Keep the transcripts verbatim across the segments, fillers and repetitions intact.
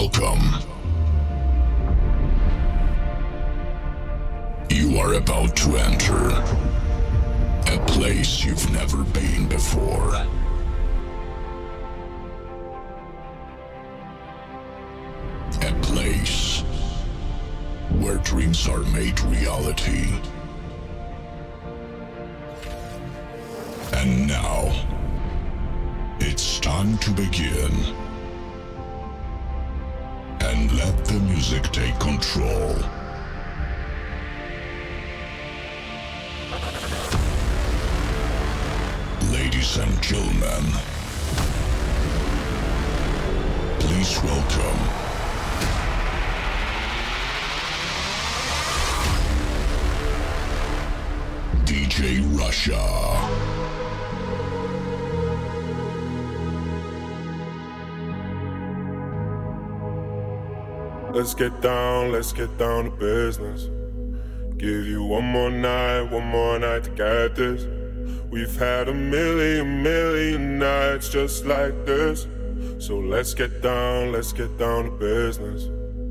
Welcome. You are about to enter a place you've never been before. A place where dreams are made reality. And now, it's time to begin. And let the music take control. Ladies and gentlemen, please welcome D J Russia. Let's get down, let's get down to business. Give you one more night, one more night to get this. We've had a million, million nights just like this. So let's get down, let's get down to business.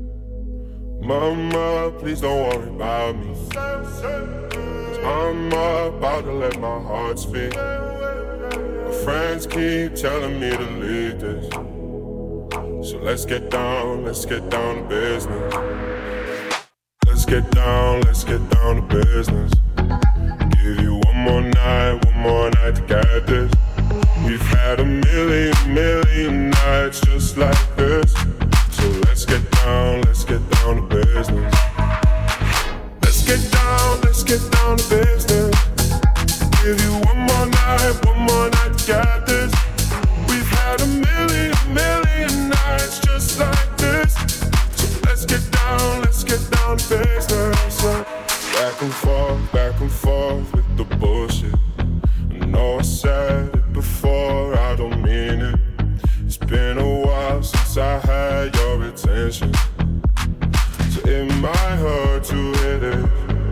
Mama, please don't worry about me. Cause I'm about to let my heart speak. My friends keep telling me to leave this. So let's get down, let's get down to business. Let's get down, let's get down to business. Give you one more night, one more night to get this. We've had a million, million nights just like this. So let's get down, let's get down to business. Let's get down, let's get down to business. Give you one more night, one more night to get this. We've had a million, million nights just like this. So let's get down, let's get down to business. Back and forth, back and forth with the bullshit. I know I said it before, I don't mean it. It's been a while since I had your attention, so it might hurt to hit it.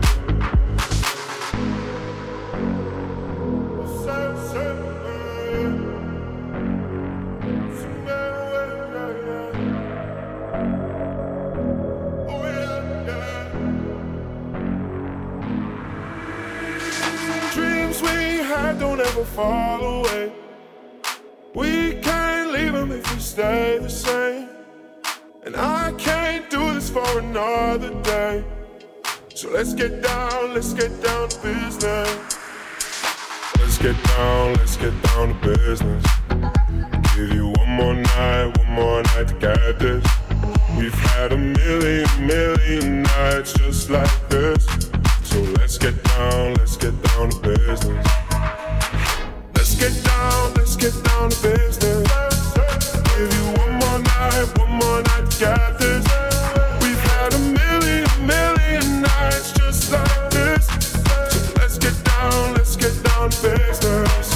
Don't ever fall away. We can't leave them if we stay the same. And I can't do this for another day. So let's get down, let's get down to business. Let's get down, let's get down to business. Give you one more night, one more night to get this. We've had a million, million nights just like this. So let's get down, let's get down to business. Let's get down, let's get down to business. Give you one more night, one more night to get this. We've had a million, million nights just like this. So let's get down, let's get down to business.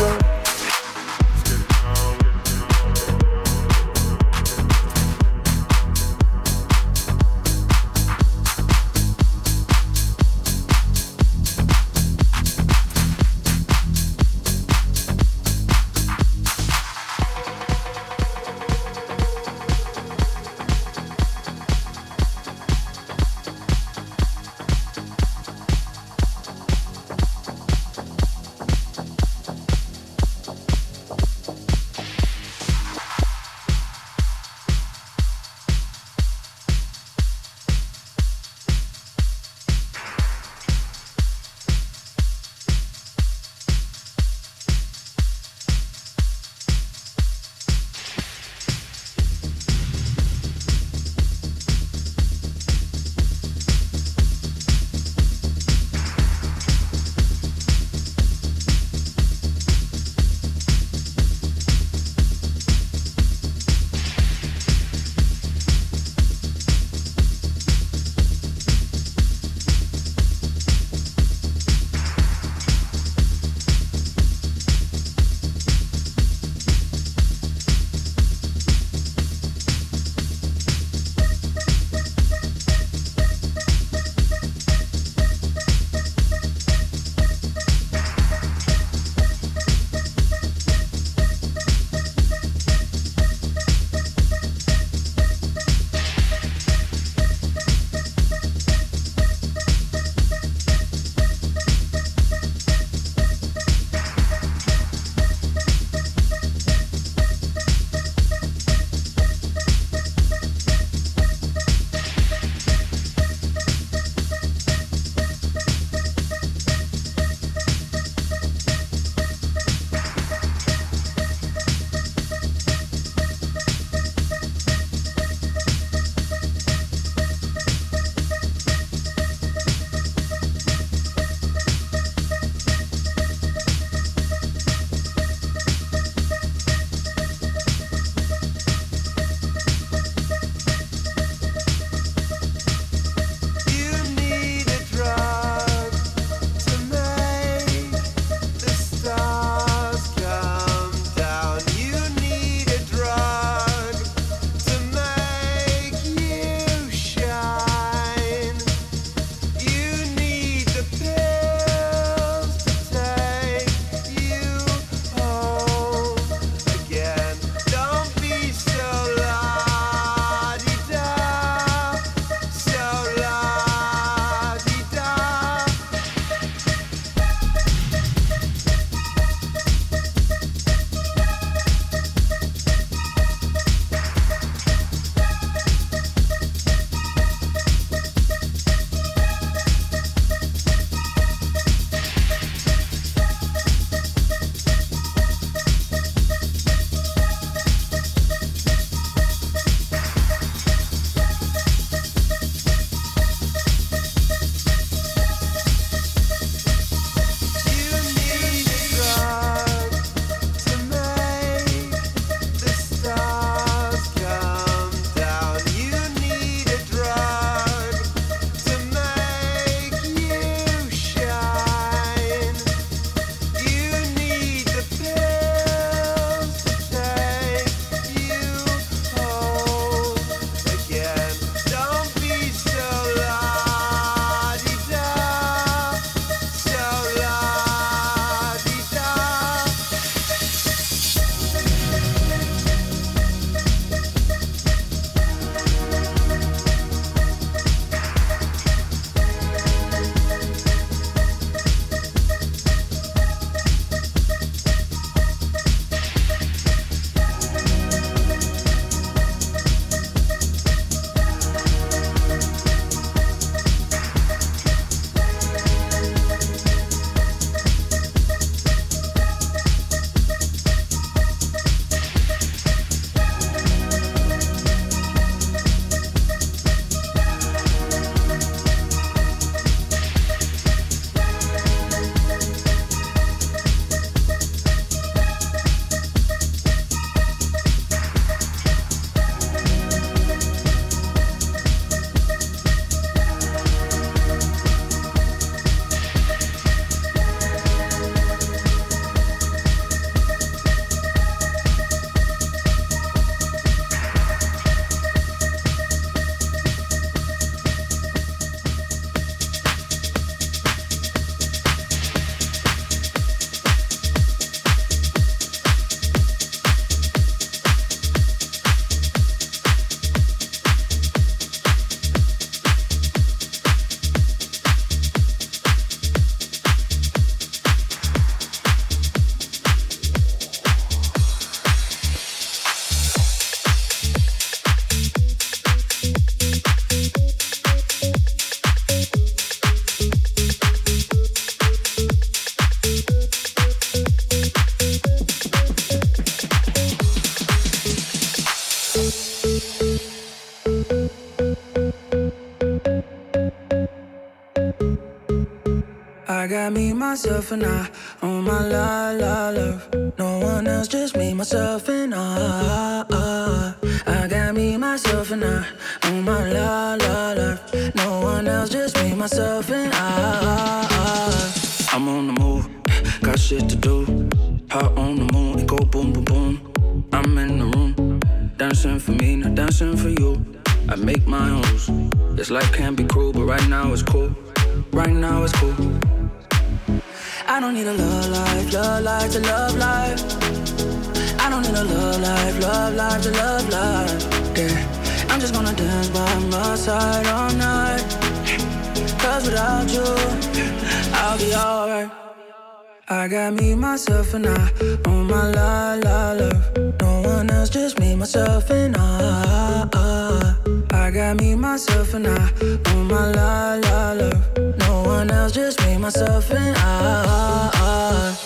I got me, myself, and I on my la la love. No one else, just me, myself, and I. I got me, myself, and I on my la la love. No one else, just me, myself, and I. I'm on the move, got shit to do. Hot on the moon, it go boom, boom, boom. I'm in the room, dancing for me, not dancing for you. I make my own rules. This life can be cruel, but right now it's cool. Right now it's cool. I don't need a love life, love life to love life. I don't need a love life, love life to love life. Yeah, I'm just gonna dance by my side all night. Cause without you, I'll be alright. I got me, myself, and I on my la la love. No one else, just me, myself, and I. I got me, myself, and I on my la la love. No one else, just me, myself, and I.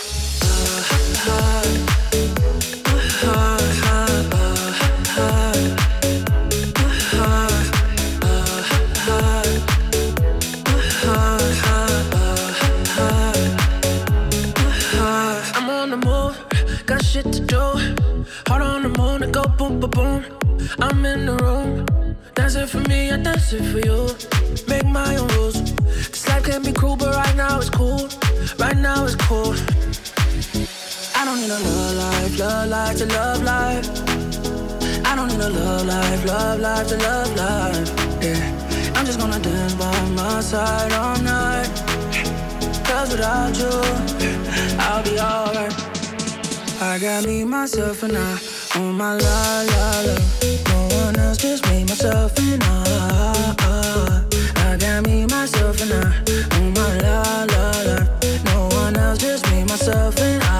I'm on the move, got shit to do. Heart on the moon, it go boom, boom, boom. I'm in the room, dancing for me, I dance it for you. Make my own rules. This life can be cruel, but right now it's cool. Right now it's cool. I don't need a love life, love life to love life. I don't need a love life, love life to love life. Yeah, I'm just gonna dance by my side all night. Cause without you, I'll be alright. I got me, myself, and I on my la la love. No one else, just me, myself, and I. I got me, myself, and I on my la la love. No one else, just me, myself, and I.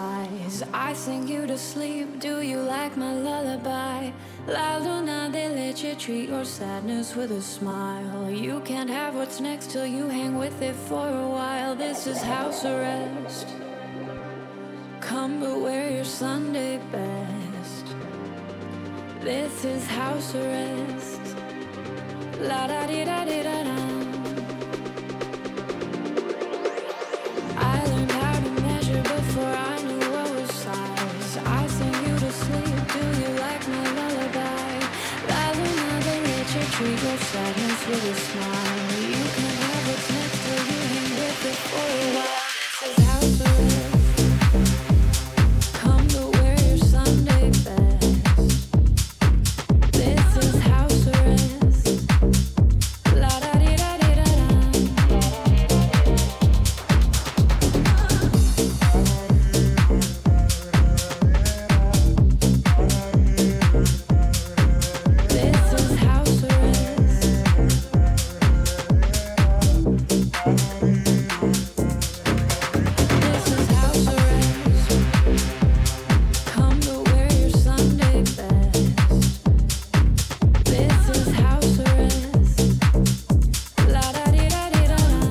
sighs. I sing you to sleep. Do you like my lullaby? La Luna, they let you treat your sadness with a smile. You can't have what's next till you hang with it for a while. This is house arrest. Come but wear your Sunday best. This is house arrest. La da di da di da da. I learned how to measure before I knew what was size. I sing you to sleep. Do you like my lullaby? La Luna, they let you treat your sadness with a smile. You can have what's next till you hang with it for a while. This is house arrest. Come to wear your Sunday best. This is house arrest. La da di da di da da. This is house arrest. This is house arrest. Come to wear your Sunday best. This is house arrest. La da di da di da da.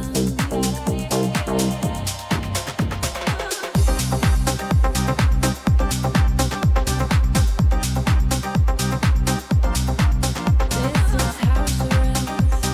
This is house arrest.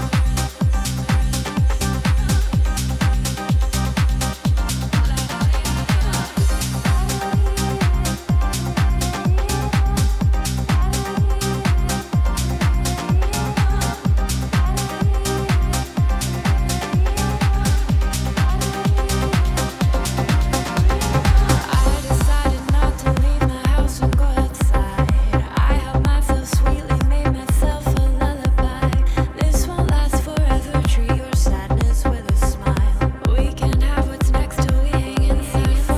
I decided not to leave my house and go outside. I helped myself sweetly, made myself a lullaby. This won't last forever. Treat your sadness with a smile. We can't have what's next till we hang inside for a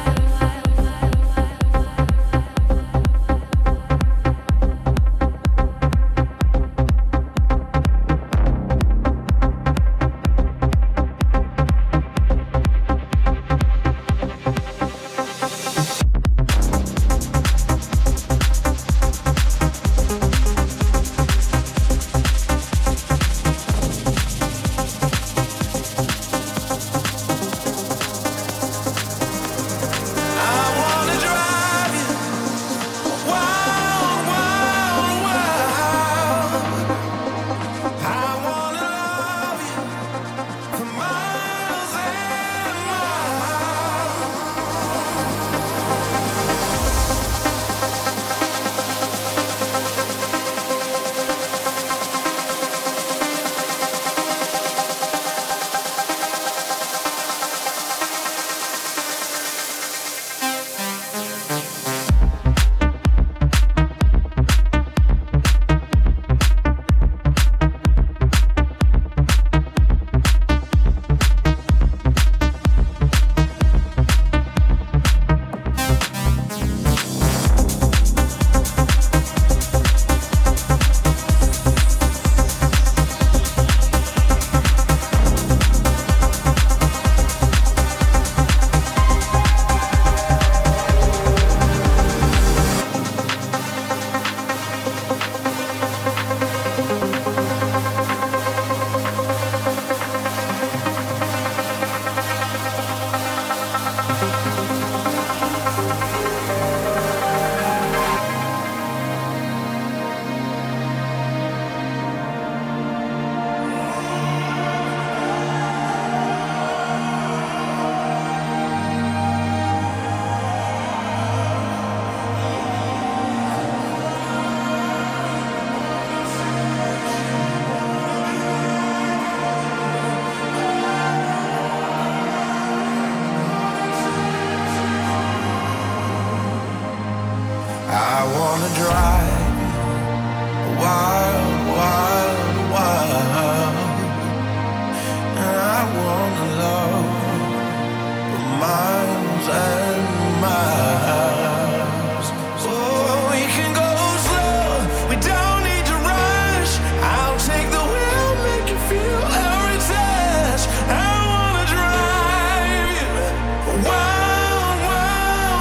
I wanna drive a wild, wild, wild, and I wanna love for miles and miles. Oh, we can go slow, we don't need to rush. I'll take the wheel, make you feel every touch. I wanna drive you wild, wild,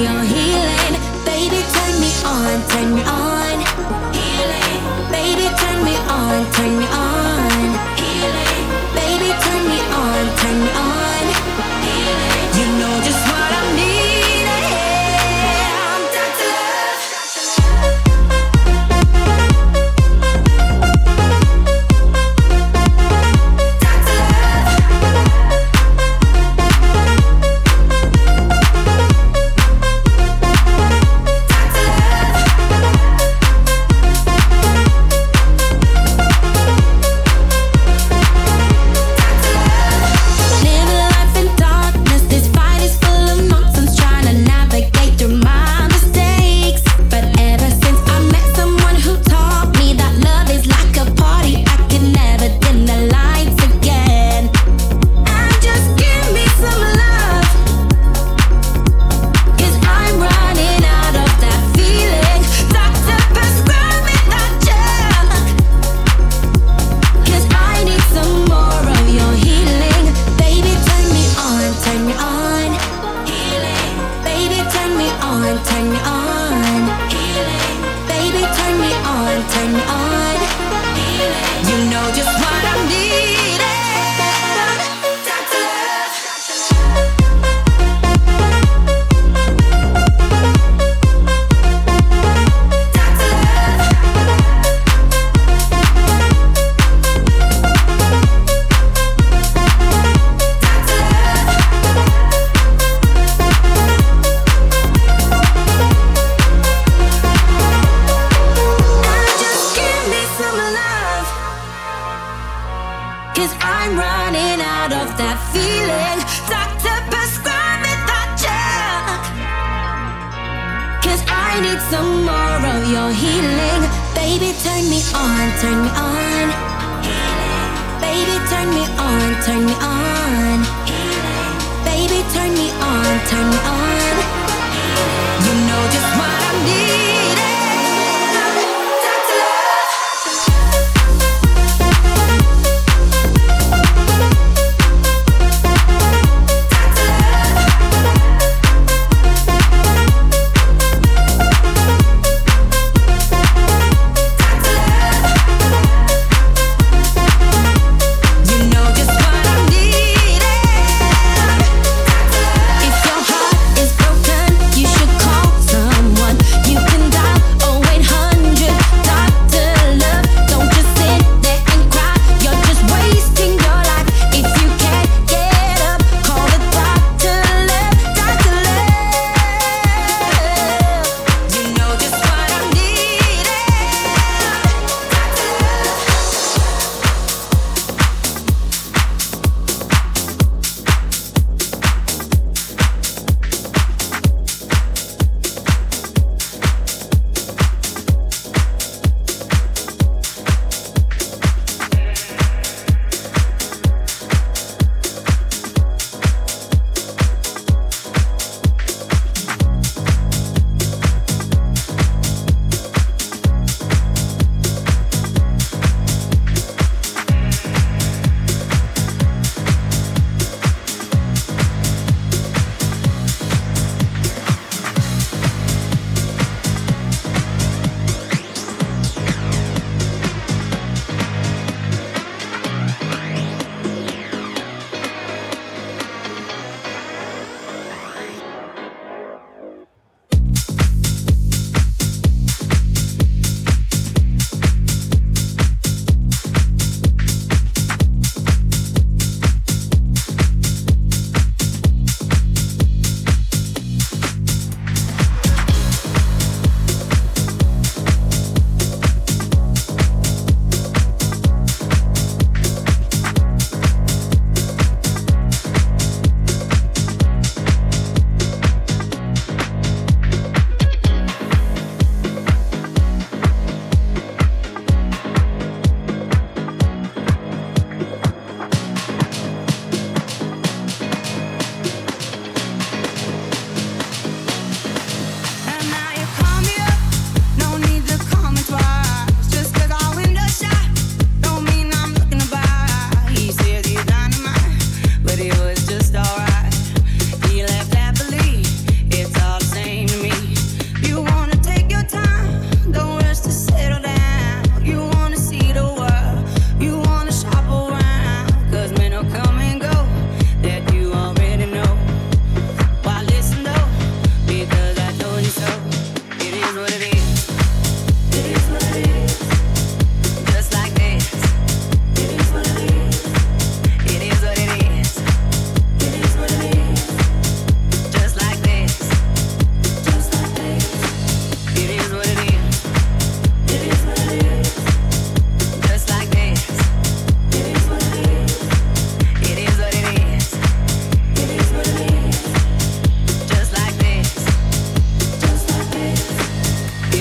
your healing. Baby, turn me on, turn me on. Healing. Baby, turn me on, turn me on. Healing. Baby, turn me on, turn me on. Healing. You know just what I need. I'm Doctor Love. Doctor If your heart is It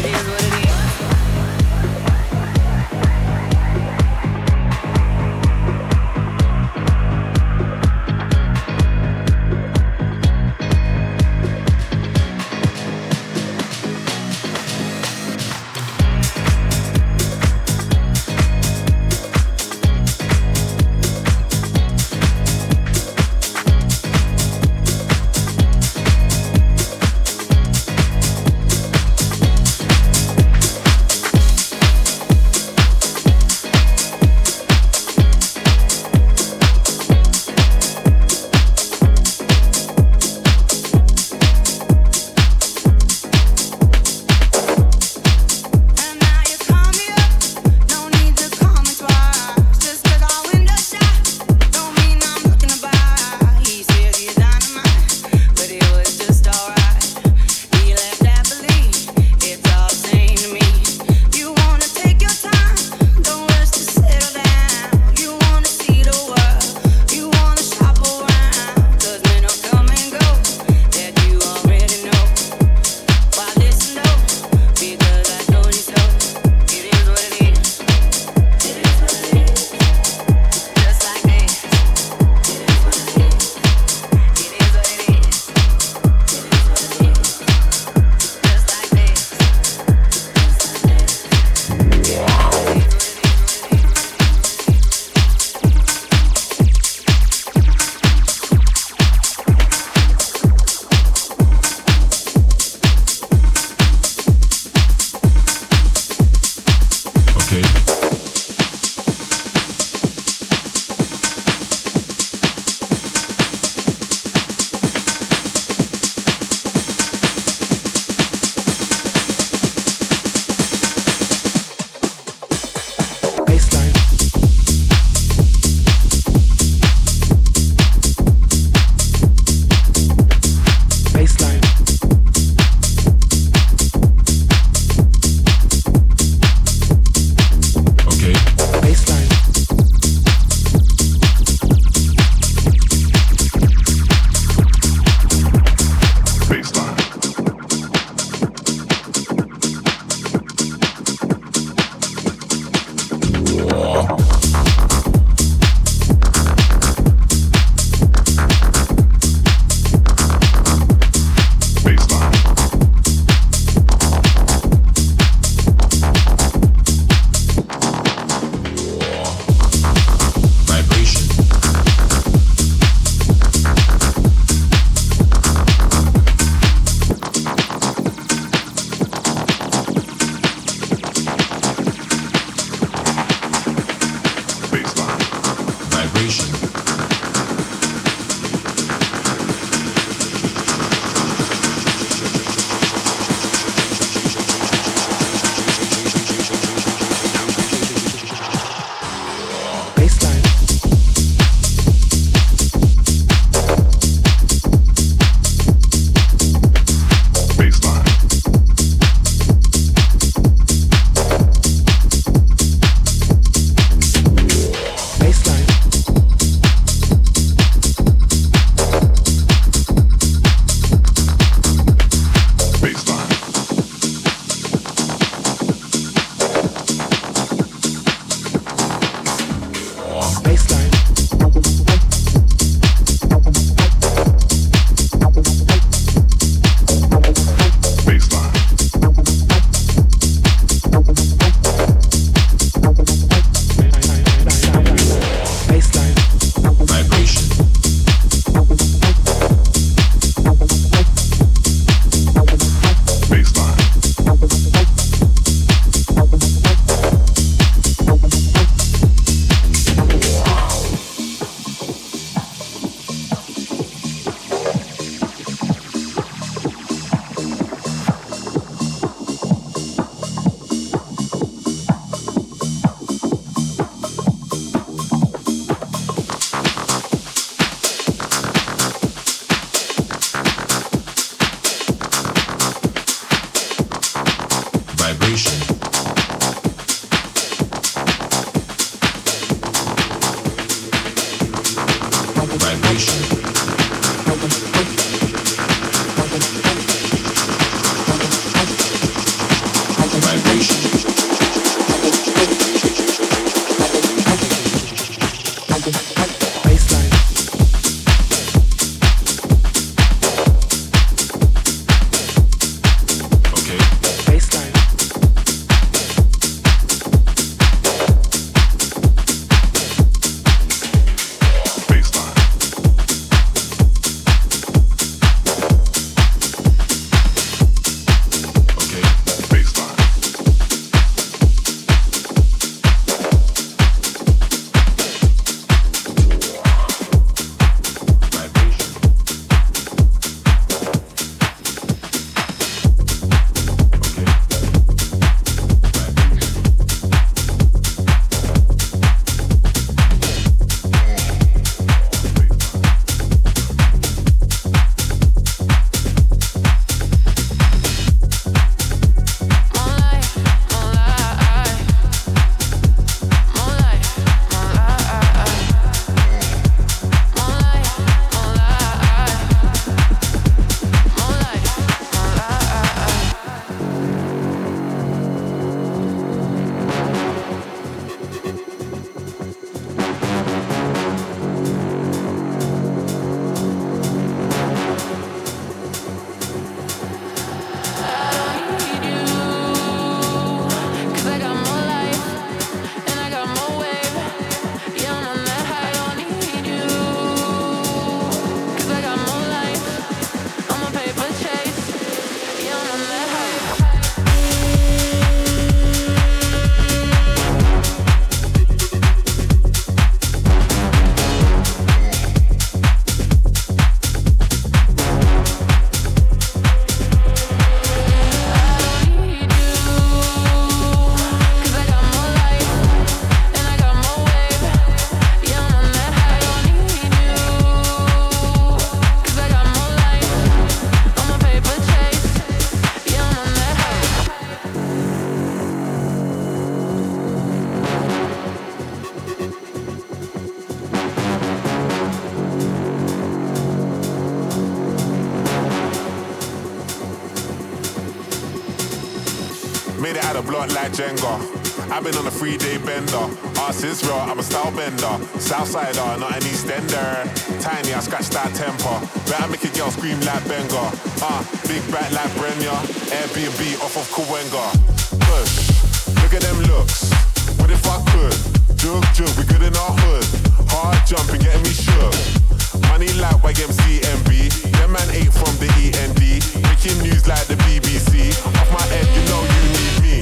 Made it out of block like Jenga. I've been on a three-day bender. Arse is raw, I'm a style bender. Southsider, not an Eastender. Tiny, I scratch that temper. Better make a girl scream like Benga. Ah, uh, big back like Brenya. Airbnb off of Kawenga. Push, look at them looks. What if I could? Jug, jug, we good in our hood. Hard jumping, getting me shook. Money like Y M C M B. Them man ate from the E N D. Making news like the B B C. Off my head, you know you need me.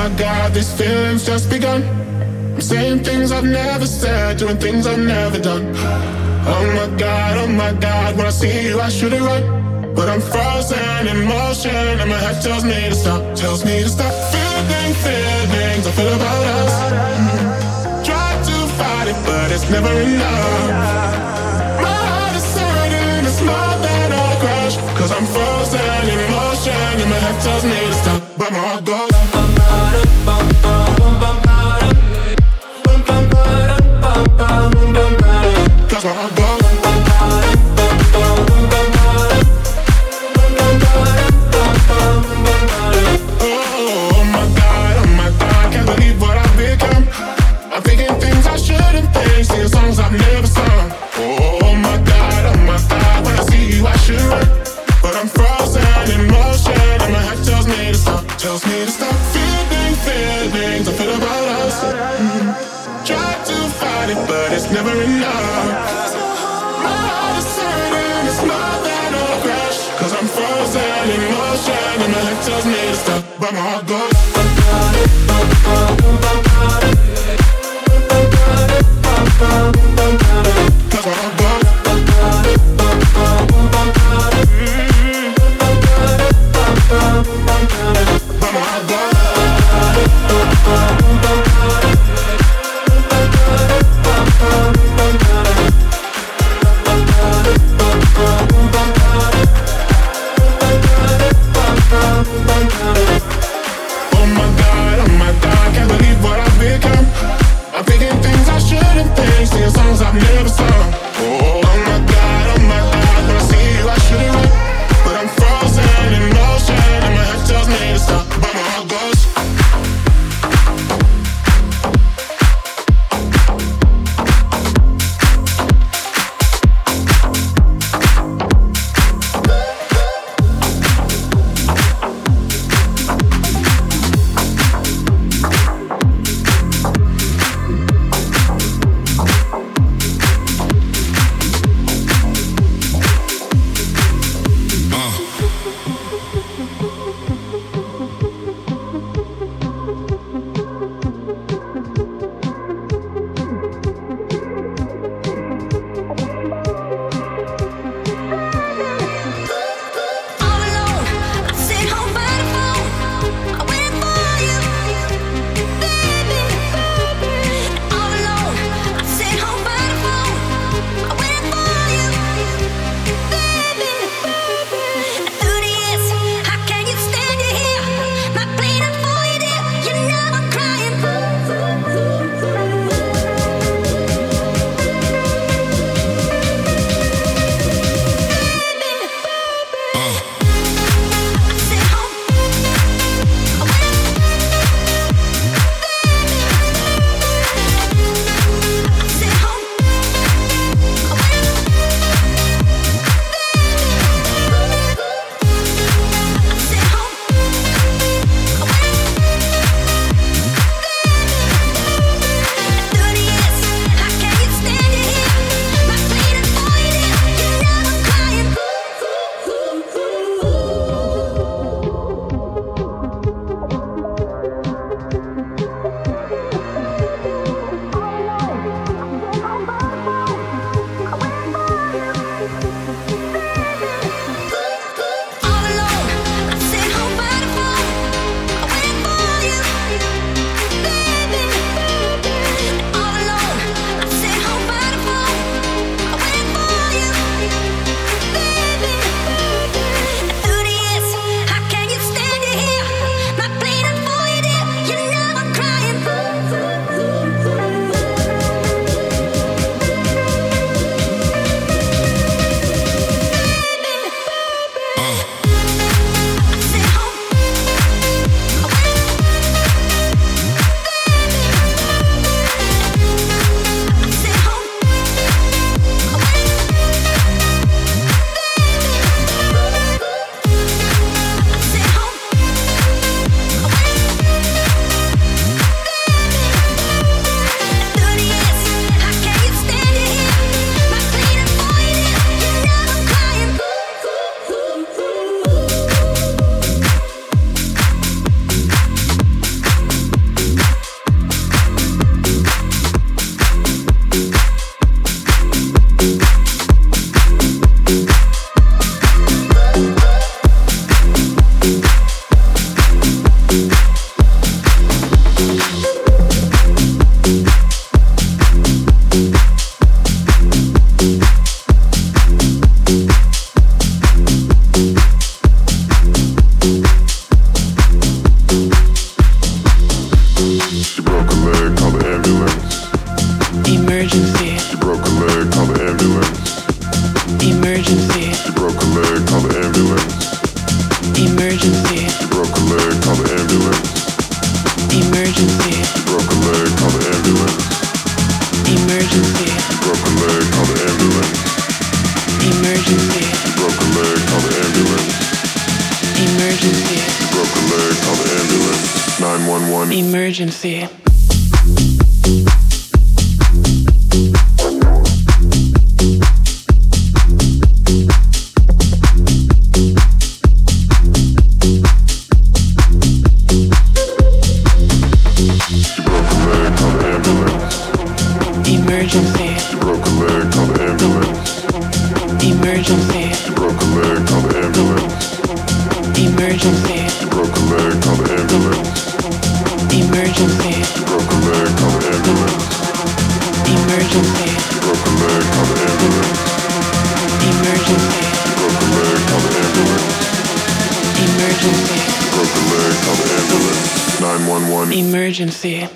my God, these feelings just begun. I'm saying things I've never said, doing things I've never done. Oh my God, oh my God, when I see you I should have run, but I'm frozen in motion and my head tells me to stop, tells me to stop. Feeling feelings I feel about us. Mm-hmm. Try to fight it, but it's never enough. My heart is hurting, it's more than a crush, cause I'm frozen in motion and my head tells me to stop, but my heart goes. Cause my heart goes. Oh my God, oh my God, can't believe what I've become. I'm thinking things I shouldn't think, singing songs I've never sung. Oh my God, oh my God, when I see you I should run, but I'm frozen in motion and my head tells me to stop, tells me to stop. Feeling feelings I feel about us. Mm-hmm. Try to fight it, but it's never enough. My heart is hurting, it's more than a crash, cause I'm frozen in motion and my head tells me to stop, but my heart goes. Cause my heart goes. But my heart goes. Oh my God, oh my God, can't believe what I've become. Emergency. Emergency. She broke a leg, call the ambulance. Emergency. She broke a leg, call the ambulance. Emergency. She broke a leg, call the ambulance. Emergency. She broke a leg, call the ambulance. Emergency. She broke a leg, call the ambulance. Emergency. She broke a leg, call the ambulance. Emergency. She broke a leg, call the ambulance. nine one one. Emergency.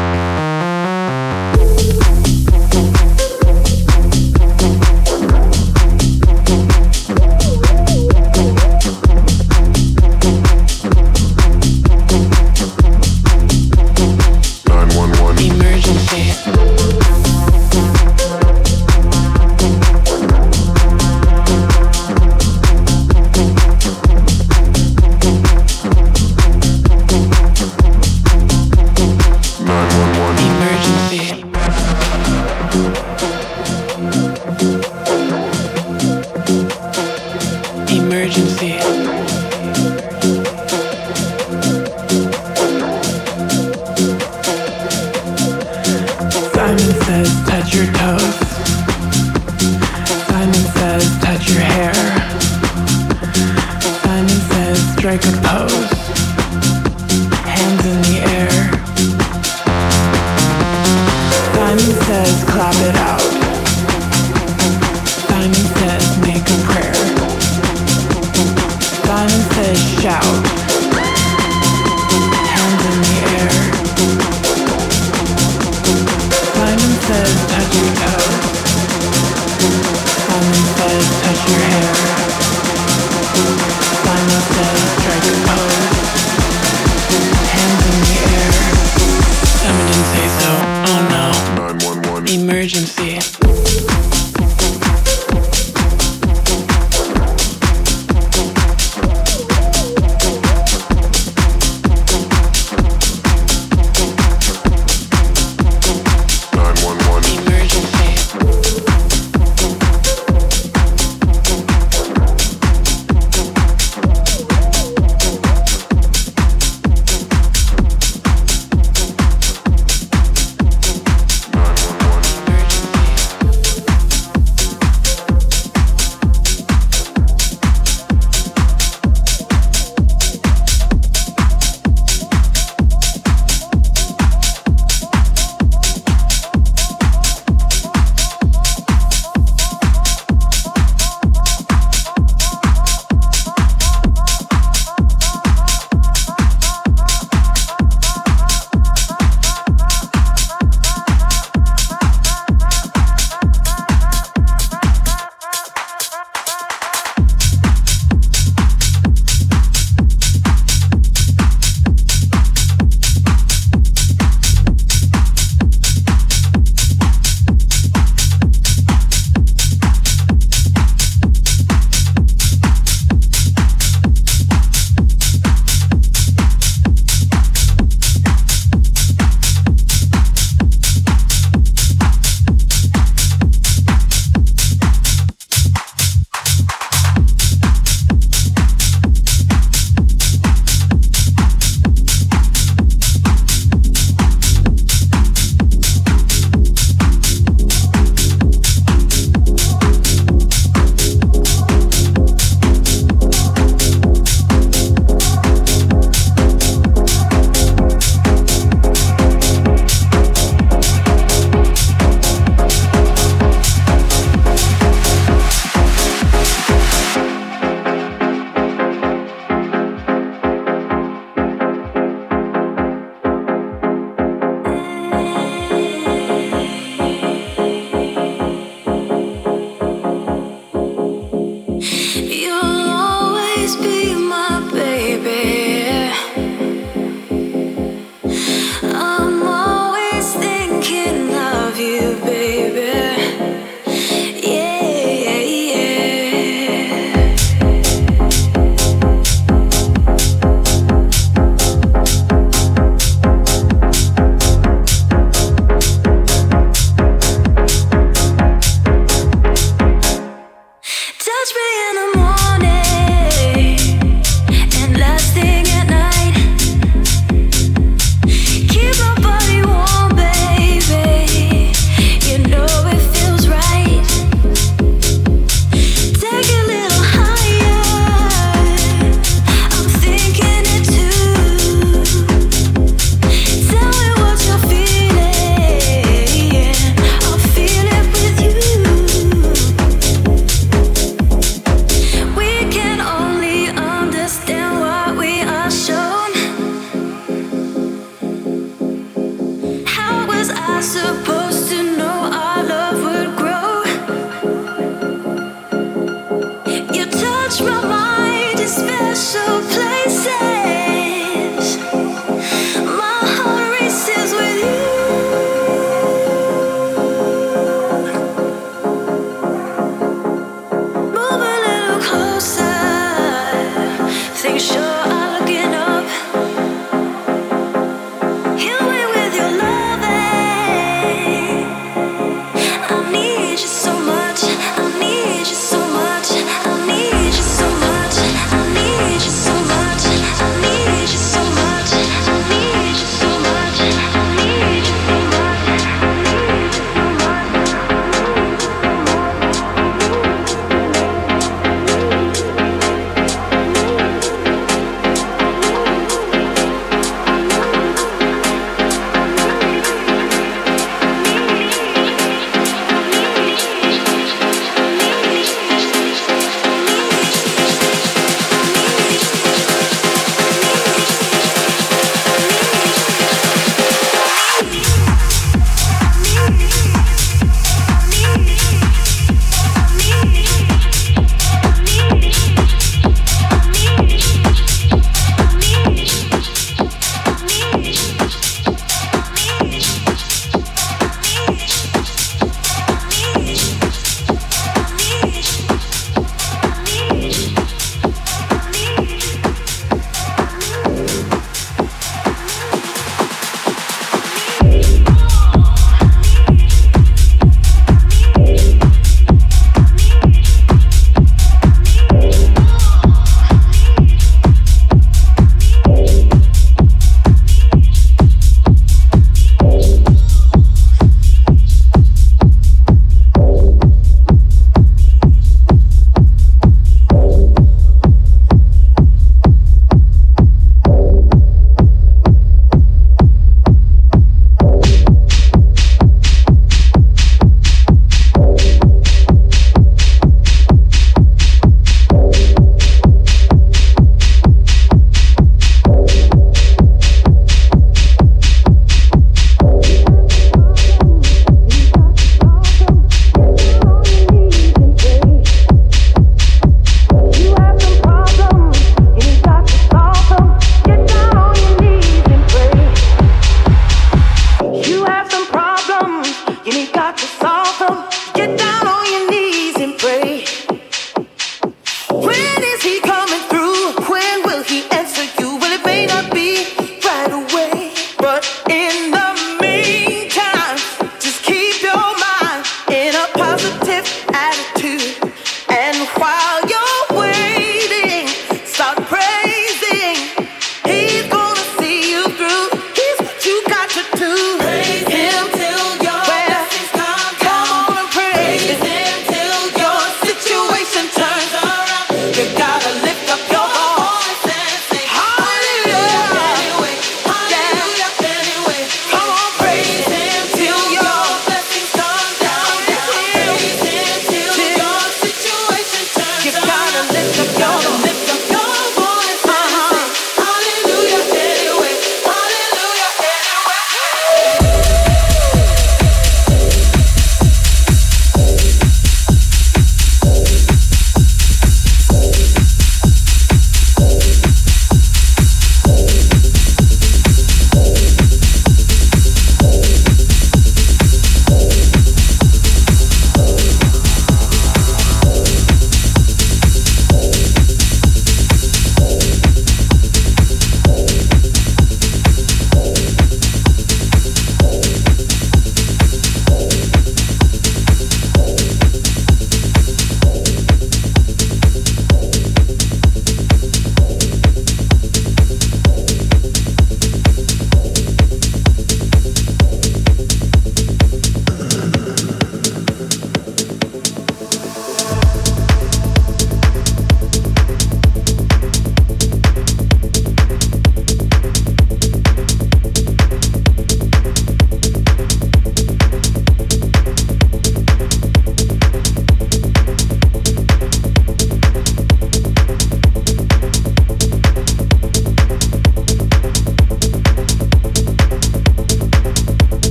Emergency. Simon says touch your toes. Simon says touch your hair. Simon says strike a pose. Hands in the air. Simon says clap it out. Simon says make a prayer. Simon says shout. Hands in the air. Simon says touch your toes. Simon says touch your hair. Simon says strike a pose. I need you so much, I need you so much, I need you so much.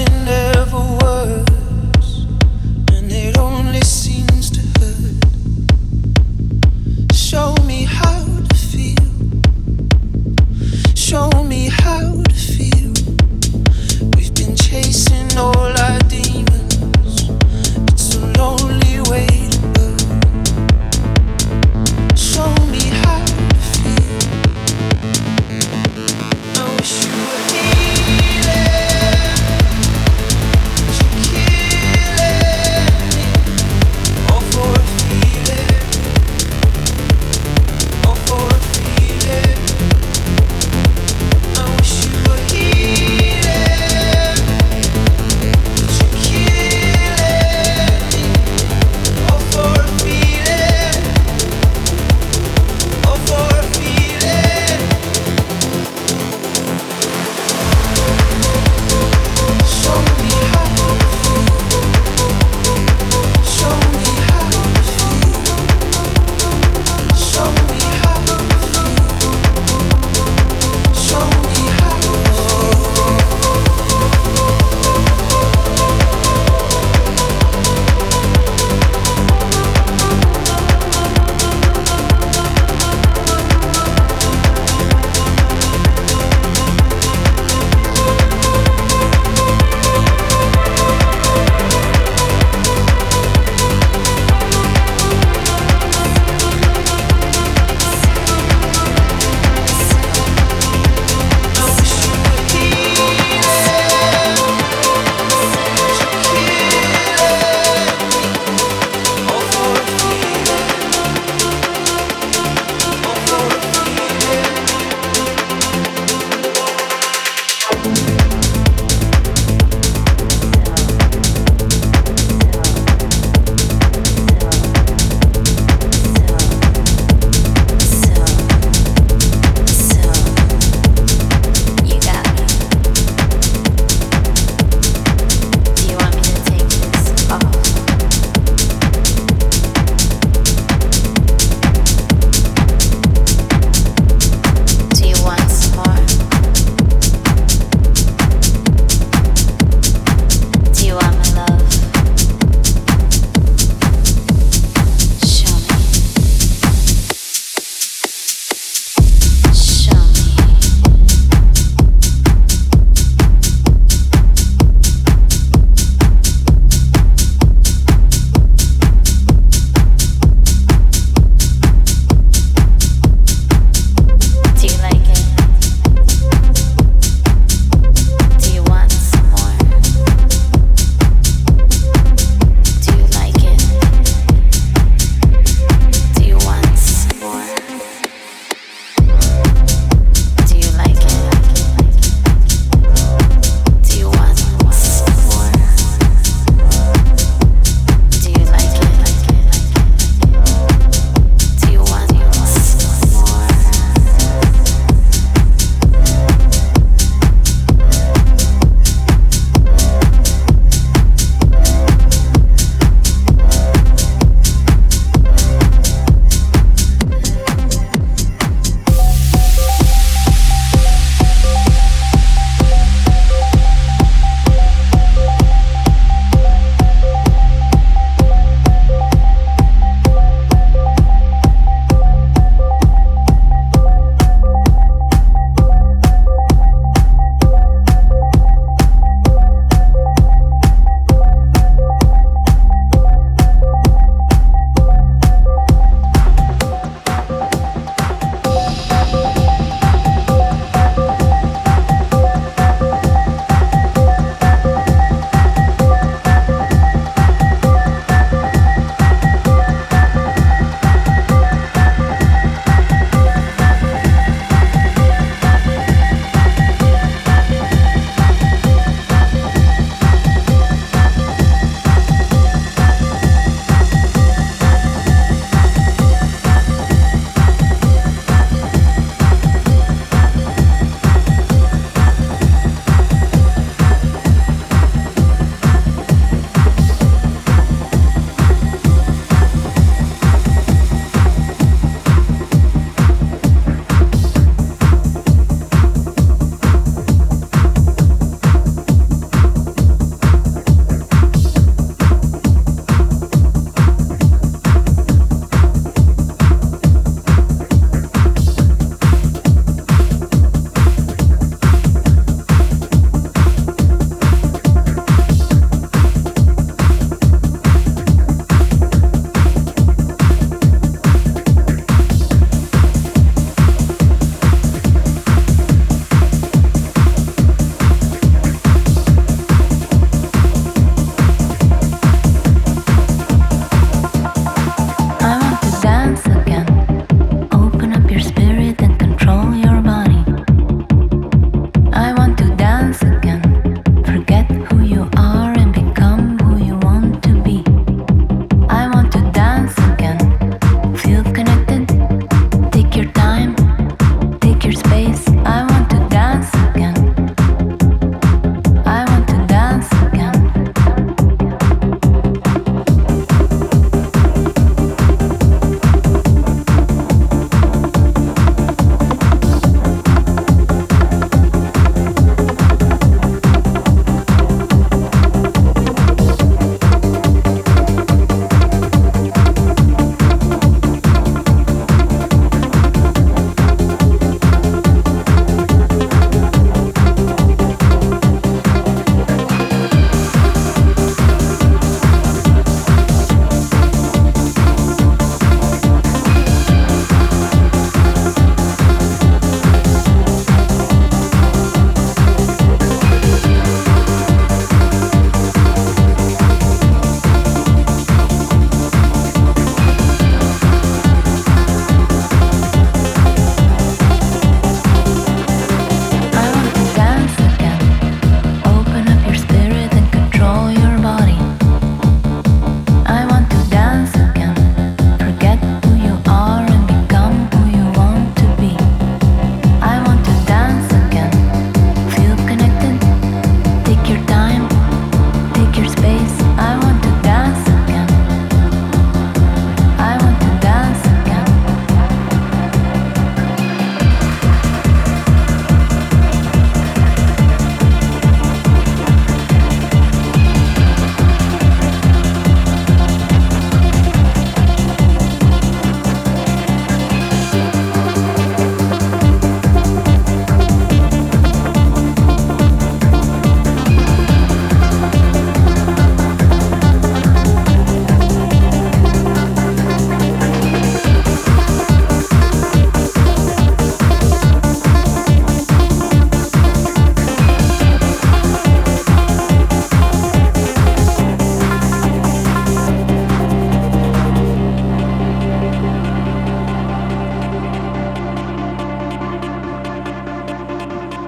nothing ever works, and it only seems to hurt. Show me how to feel. Show me how to feel. We've been chasing all our demons. It's a lonely way to burn. Show me how to feel. I wish you were here.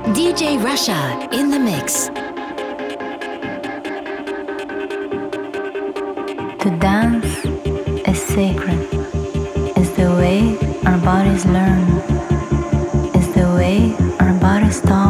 D J Russia in the mix. To dance is sacred. It's the way our bodies learn. It's the way our bodies talk.